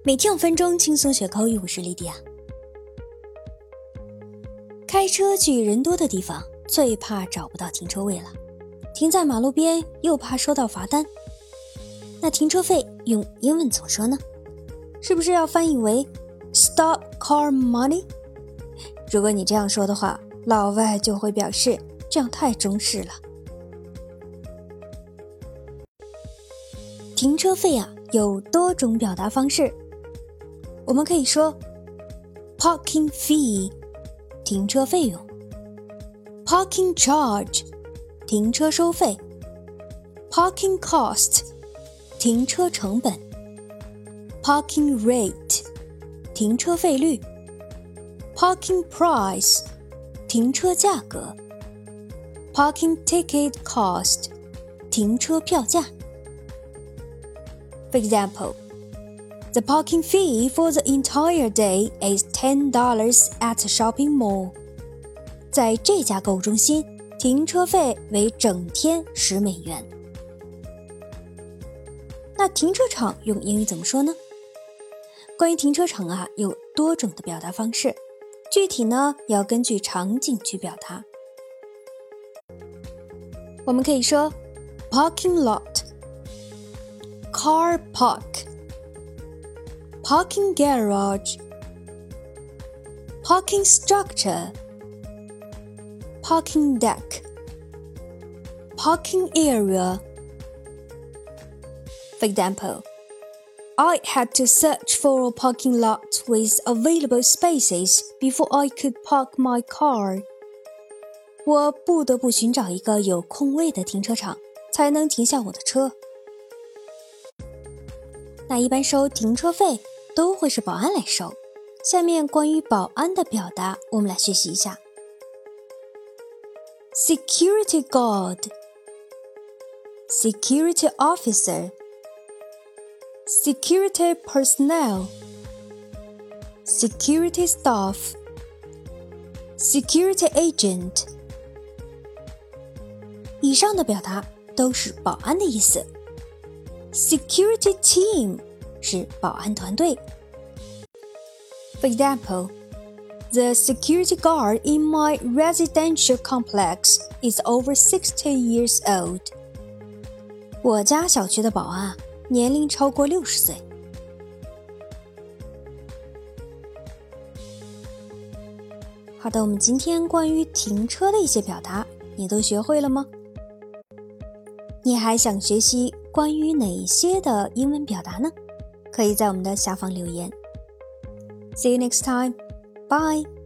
每天5分钟轻松学口语，我是莉迪亚。开车去人多的地方，最怕找不到停车位了。停在马路边又怕收到罚单。那停车费用英文怎么说呢？是不是要翻译为 Stop car money？ 如果你这样说的话，老外就会表示这样太中式了。停车费有多种表达方式，我们可以说 parking fee 停车费用， parking charge 停车收费， parking cost 停车成本， parking rate 停车费率， parking price 停车价格， parking ticket cost 停车票价。For example, the parking fee for the entire day is $10 at a shopping mall. 在这家购物中心，停车费为整天$10。那停车场用英语怎么说呢？关于停车场有多种的表达方式，具体呢要根据场景去表达。我们可以说 parking lot、car park、parking garage、parking structure、parking deck、parking area. For example, I had to search for a parking lot with available spaces before I could park my car. 我不得不寻找一个有空位的停车场，才能停下我的车。那一般收停车费都会是保安来收。下面关于保安的表达，我们来学习一下。Security guard, security officer, security personnel, security staff, security agent. 以上的表达都是保安的意思。Security team 是保安团队。For example, the security guard in my residential complex is over 60 years old. 我家小区的保安年龄超过60岁。好的，我们今天关于停车的一些表达，你都学会了吗？你还想学习关于哪些的英文表达呢？可以在我们的下方留言。See you next time. Bye.